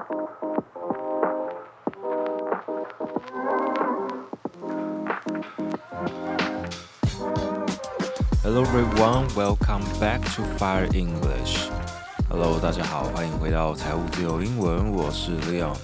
Hello everyone, welcome back to Fire English. Hello, 大家好，歡迎回到財務自由英文，我是 Leon.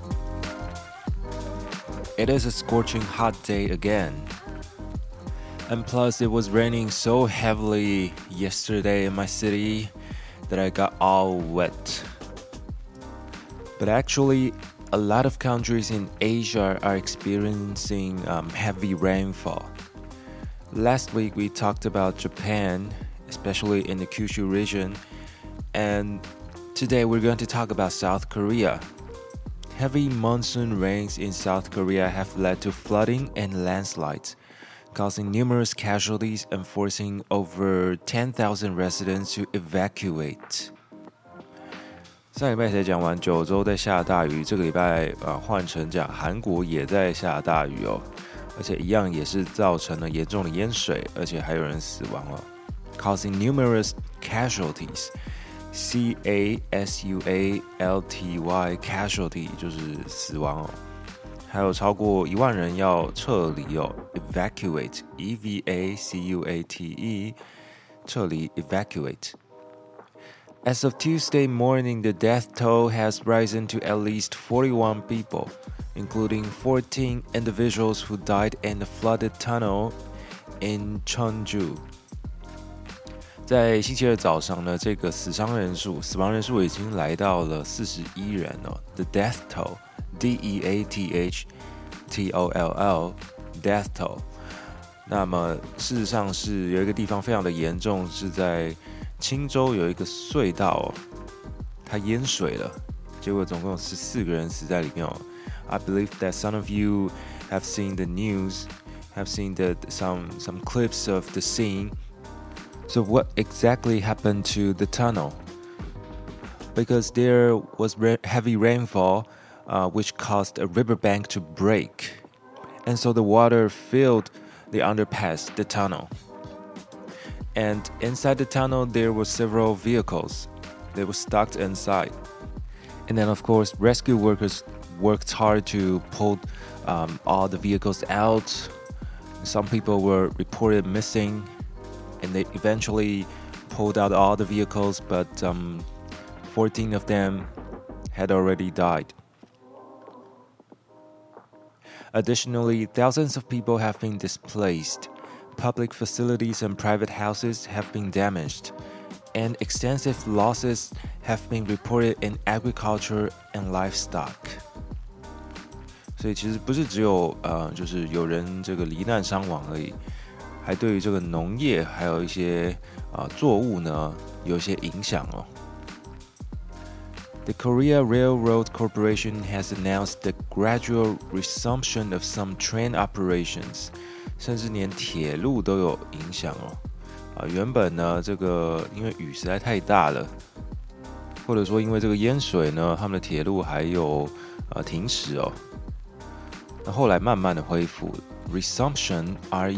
It is a scorching hot day again. And plus it was raining so heavily yesterday in my city that I got all wet. But actually, a lot of countries in Asia are experiencing heavy rainfall.Last week, we talked about Japan, especially in the Kyushu region, and today we're going to talk about South Korea. Heavy monsoon rains in South Korea have led to flooding and landslides, causing numerous casualties and forcing over 10,000 residents to evacuate. 上禮拜才講完九州在下大雨，這個禮拜換成講韓國也在下大雨哦。而且一樣也是造成了嚴重的淹水，而且還有人死亡了 ，causing numerous casualties. C-A-S-U-A-L-T-Y casualty 就是死亡哦，還有超過1萬人要撤離哦 ，evacuate E-V-A-C-U-A-T-E 撤離 evacuate. As of Tuesday morning, the death toll has risen to at least 41 people.Including 14 individuals who died in the flooded tunnel in Cheonju. 在星期二早上呢，這個死亡人數已經來到了41人哦。The death toll, D-E-A-T-H-T-O-L-L, death toll. 那麼事實上是有一個地方非常的嚴重，是在青州有一個隧道哦，它淹水了，結果總共有14個人死在裡面哦。I believe that some of you have seen the news, have seen some clips of the scene. So what exactly happened to the tunnel? Because there was heavy rainfall, which caused a riverbank to break. And so the water filled the underpass, the tunnel. And inside the tunnel, there were several vehicles. They were stuck inside. And then, of course, rescue workers worked hard to pull all the vehicles out. Some people were reported missing, and they eventually pulled out all the vehicles, but 14 of them had already died. Additionally, thousands of people have been displaced. Public facilities and private houses have been damaged, and extensive losses have been reported in agriculture and livestock.所以其實不是只有就是有人這個罹難傷亡而已，還對於這個農業還有一些作物呢有一些影響哦。The Korea Railroad Corporation has announced the gradual resumption of some train operations， 甚至連鐵路都有影響哦。原本呢這個因為雨實在太大了，或者說因為這個淹水呢，他們的鐵路還有停駛哦。後來慢慢的恢復 ，resumption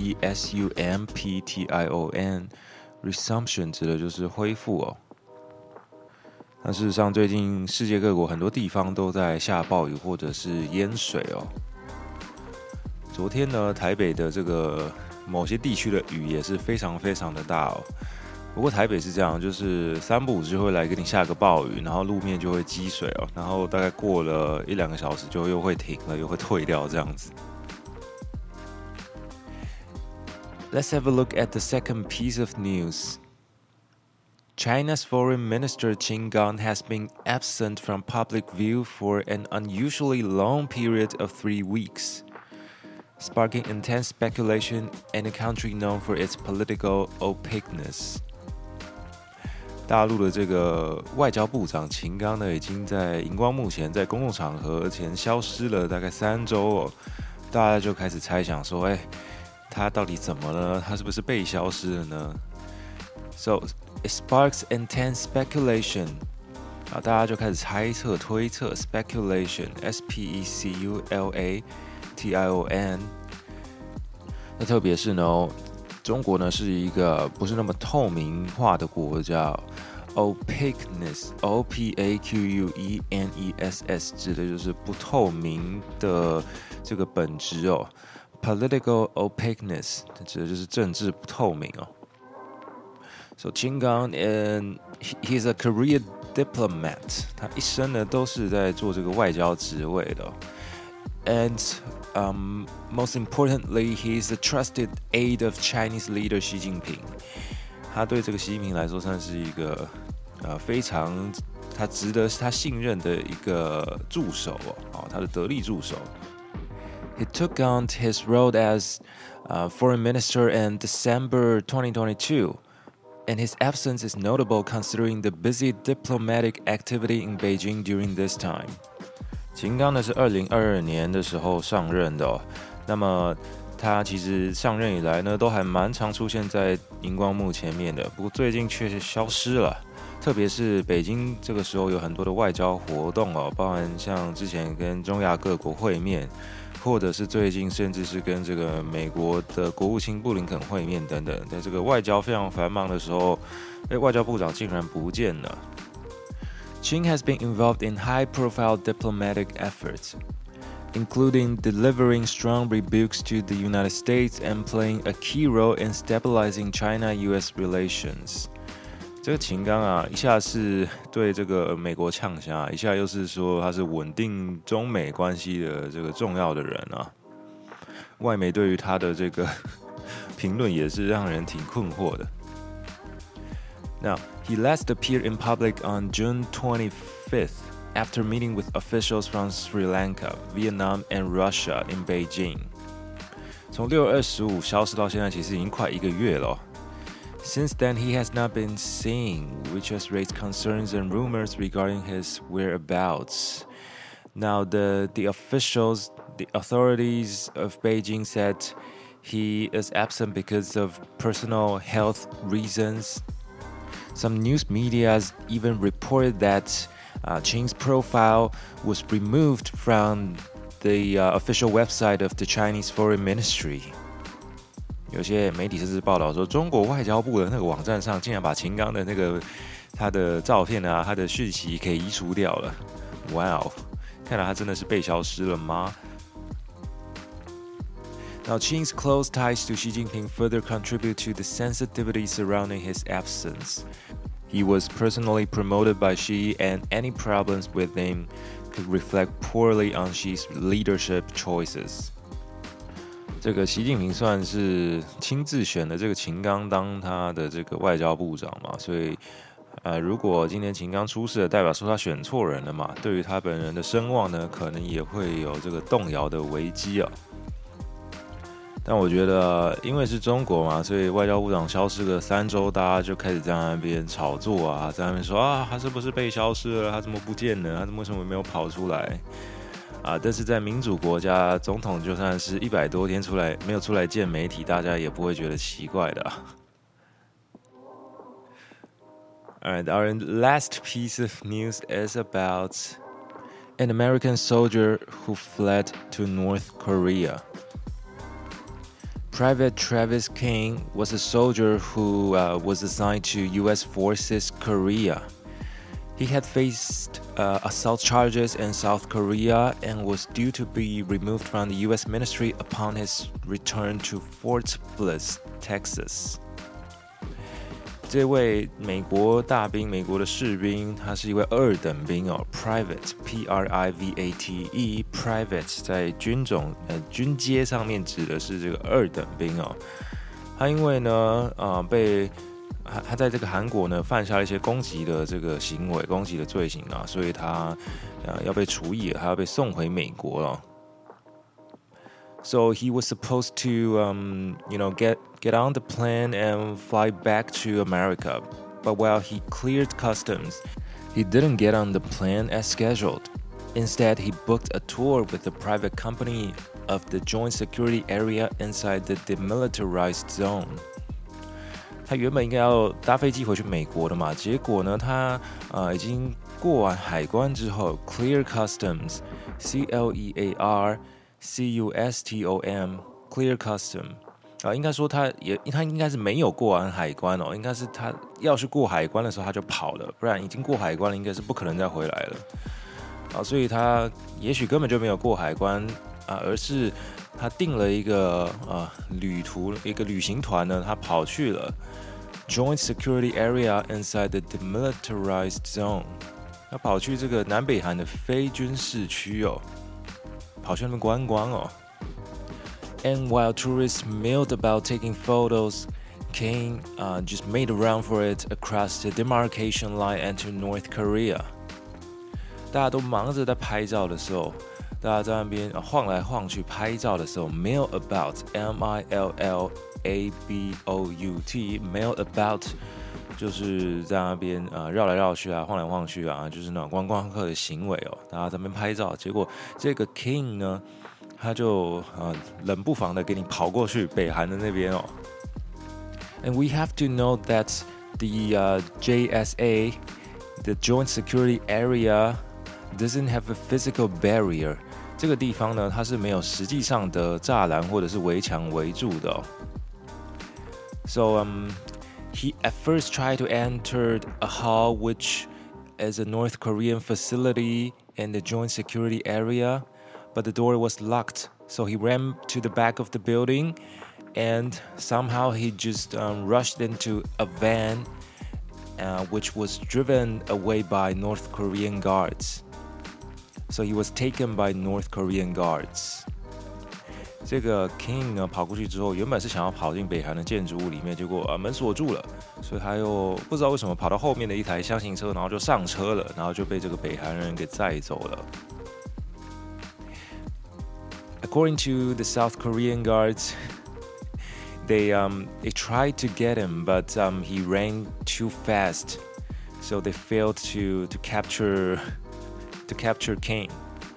R-E-S-U-M-P-T-I-O-N resumption 指的就是恢復哦。那事實上，最近世界各國很多地方都在下暴雨或者是淹水哦。昨天呢，台北的這個某些地區的雨也是非常非常的大哦。不過台北是這樣，就是3不5時會來給你下個暴雨，然後路面就會積水哦，然後大概過了1-2個小時就又會停了，又會退掉這樣子。Let's have a look at the second piece of news. China's Foreign Minister Qin Gang has been absent from public view for an unusually long period of 3 weeks, sparking intense speculation in a country known for its political opaqueness.大陸的這個外交部長秦剛呢，已經在熒光幕前在公共場合前消失了大概3週哦，大家就開始猜想說，他到底怎麼了？他是不是被消失了呢？ So it sparks intense speculation 大家就開始猜測、推測 speculation S-P-E-C-U-L-A-T-I-O-N 那特別是呢中國呢是一個不是那麼透明化的國家 opaqueness opaqueness 指的就是不透明的这個本質哦。Political opaqueness 指的就是政治不透明哦。So Qin Gang and he's a career diplomat， 他一生呢都是在做這個外交職位的哦。And most importantly, he's a trusted aide of Chinese leader Xi Jinping。他對這個習近平來說算是一個非常他值得他信任的一個助手哦，他的得力助手。He took on his role as foreign minister in December 2022, and his absence is notable considering the busy diplomatic activity in Beijing during this time. 秦剛呢是2022年的時候上任的哦，那麼他其實上任以來呢，都還蠻常出現在熒光幕前面的，不過最近卻是消失了。特別是北京這個時候有很多的外交活動哦，包含像之前跟中亞各國會面，或者是最近甚至是跟這個美國的國務卿布林肯會面等等，在這個外交非常繁忙的時候，外交部長竟然不見了。Qin has been involved in high-profile diplomatic efforts, including delivering strong rebukes to the United States and playing a key role in stabilizing China-US relations. 這個秦剛啊，一下是對這個美國嗆聲，一下又是說他是穩定中美關係的這個重要的人啊。外媒對於他的這個評論也是讓人挺困惑的。Now, he last appeared in public on June 25th after meeting with officials from Sri Lanka, Vietnam, and Russia in Beijing. 從6月25消失到現在，其實已經快1個月了。Since then, he has not been seen, which has raised concerns and rumors regarding his whereabouts. Now, the authorities of Beijing said he is absent because of personal health reasons. Some news media even reported that Qin's profile was removed from the official website of the Chinese Foreign Ministry. 有些媒體甚至報道說，中國外交部的那個網站上竟然把秦剛的那個他的照片啊，他的訊息給移除掉了。哇哦，看來他真的是被消失了嗎？Now, Qin's close ties to Xi Jinping further contribute to the sensitivity surrounding his absence. He was personally promoted by Xi, and any problems with him could reflect poorly on Xi's leadership choices. 這個習近平算是親自選的這個秦剛當他的這個外交部長嘛，所以如果今天秦剛出事了，代表說他選錯人了嘛，對於他本人的聲望呢，可能也會有這個動搖的危機啊。但我覺得，因為是中國嘛，所以外交部長消失個3週，大家就開始在那邊炒作啊，在那邊說啊，他是不是被消失了？他怎麼不見了？他為什麼沒有跑出來？但是在民主國家，總統就算是100多天沒有出來見媒體，大家也不會覺得奇怪的啊。Alright, our last piece of news is about an American soldier who fled to North Korea. Private Travis King was a soldier who was assigned to U.S. Forces Korea. He had faced assault charges in South Korea and was due to be removed from the U.S. ministry upon his return to Fort Bliss, Texas. 這位美國大兵，美國的士兵，他是一位2等兵哦 ，private P-R-I-V-A-T-E private 在軍階上面指的是這個2等兵哦。他因為呢，他在這個韓國呢犯下了一些攻擊的這個行為，攻擊的罪行啊，所以他要被處以了，他要被送回美國了。So he was supposed to, get on the plane and fly back to America. But while he cleared customs, he didn't get on the plane as scheduled. Instead, he booked a tour with a private company of the joint security area inside the demilitarized zone. 他原本應該要搭飛機回去美國的嘛，結果呢，他已經過完海關之後 ，clear customs, C-L-E-A-R。C-U-S-T-O-M, clear custom， 應該說他應該是沒有過完海關哦，應該是他要是過海關的時候他就跑了，不然已經過海關了，應該是不可能再回來了。所以他也許根本就沒有過海關而是他訂了一個一個旅行團呢，他跑去了 Joint Security Area inside the Demilitarized Zone， 他跑去這個南北韓的非軍事區哦，跑去那邊觀光哦。And while tourists milled about taking photos, King just made a run for it across the demarcation line and to North Korea. 大家都忙着在拍照的時候，大家在那邊晃來晃去拍照的时候 ，mill about, M-I-L-L-A-B-O-U-T, mill about 就是在那邊繞來繞去啊，晃来晃去啊，就是那種觀光客的行為哦。大家在那邊拍照，結果這個 King 呢？他就冷不防的給你跑過去北韓的那邊哦。And we have to note that the JSA, the Joint Security Area, doesn't have a physical barrier. 這個地方呢，它是沒有實際上的柵欄或者是圍牆圍住的哦。So he at first tried to enter a hall which is a North Korean facility in the Joint Security Area.But the door was locked, so he ran to the back of the building, and somehow he just rushed into a van, which was driven away by North Korean guards. So he was taken by North Korean guards. 這個 King 呢跑過去之後，原本是想要跑進北韓的建築物裡面，結果門鎖住了，所以他又不知道為什麼跑到後面的一台廂型車，然後就上車了，然後就被這個北韓人給載走了。According to the South Korean guards, they tried to get him, but he ran too fast, so they failed to capture King.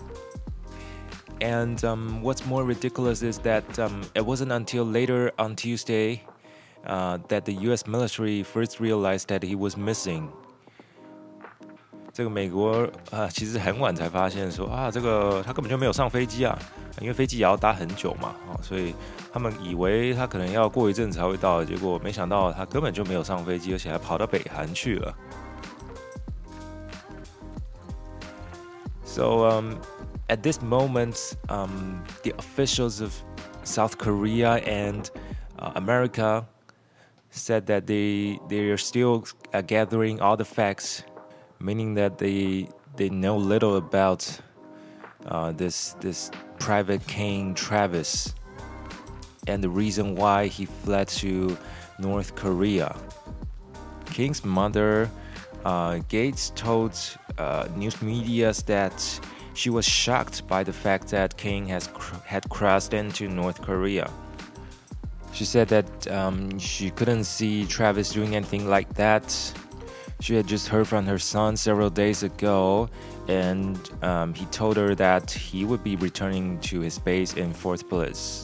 And what's more ridiculous is that it wasn't until later on Tuesday that the U.S. military first realized that he was missing. 這個美國其實很晚才發現說這個他根本就沒有上飛機啊，因為飛機也要搭很久嘛，所以他們以為他可能要過一陣才會到，結果沒想到他根本就沒有上飛機，而且還跑到北韓去了。So at this moment, the officials of South Korea and America said that they are still gathering all the facts.Meaning that they know little about this private King Travis and the reason why he fled to North Korea. King's mother, Gates, told news media that she was shocked by the fact that King had crossed into North Korea. She said that she couldn't see Travis doing anything like that.She had just heard from her son several days ago, and he told her that he would be returning to his base in Fort Bliss.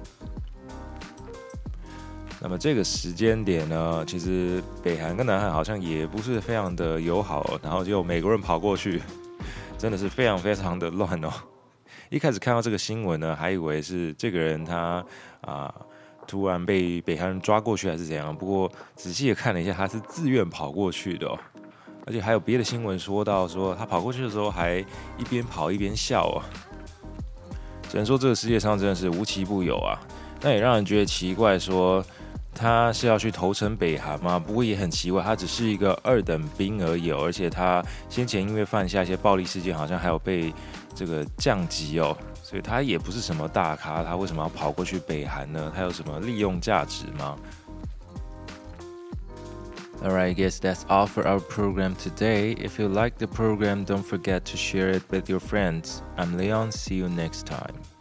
那麼這個時間點呢，其實北韓跟南韓好像也不是非常的友好，然後就美國人跑過去，真的是非常非常的亂哦。一開始看到這個新聞呢，還以為是這個人他突然被北韓人抓過去還是怎樣？不過仔細的看了一下，他是自願跑過去的哦，而且還有別的新聞說到說他跑過去的時候還一邊跑一邊笑啊。只能說這個世界上真的是無奇不有啊。那也讓人覺得奇怪，說他是要去投誠北韓嗎？不過也很奇怪，他只是一個二等兵而已哦，而且他先前因為犯下一些暴力事件，好像還有被這個降級哦。所以他也不是什麼大咖，他為什麼要跑過去北韓呢？他有什麼利用價值嗎？ Alright, I guess that's all for our program today. If you like the program, don't forget to share it with your friends. I'm Leon. See you next time.